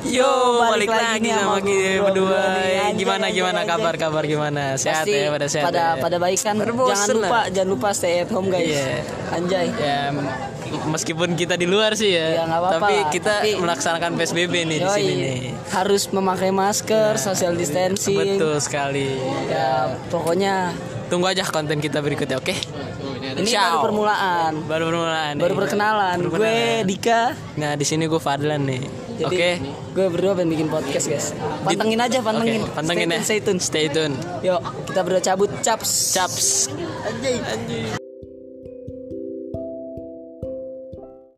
Yo, balik lagi sama kita berdua. Gimana kabar gimana? Sehat pasti ya, pada sehat. pada baik kan. Jangan lupa stay at home guys. Iya. Anjay. Ya, meskipun kita di luar sih ya, Ya, nggak apa-apa tapi lah. kita melaksanakan PSBB nih di sini nih. Harus memakai masker, social distancing. Betul sekali. Ya, pokoknya Tunggu aja konten kita berikutnya, oke? ini Ciao. baru permulaan. Baru perkenalan. Baru perkenalan. Gue Dika. Nah, di sini gue Fadlan nih. Jadi, Oke. Gue berdua pengen bikin podcast guys. Pantengin aja. Oke, pantengin ya. Stay tune. Stay tune. Yuk, kita berdua cabut. Caps. Caps. Anjay.